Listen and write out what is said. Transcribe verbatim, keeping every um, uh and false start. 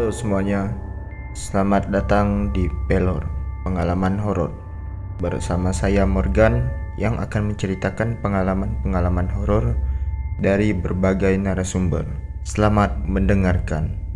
Halo semuanya, selamat datang di Pelor, pengalaman horor. Bersama saya Morgan yang akan menceritakan pengalaman-pengalaman horor dari berbagai narasumber. Selamat mendengarkan.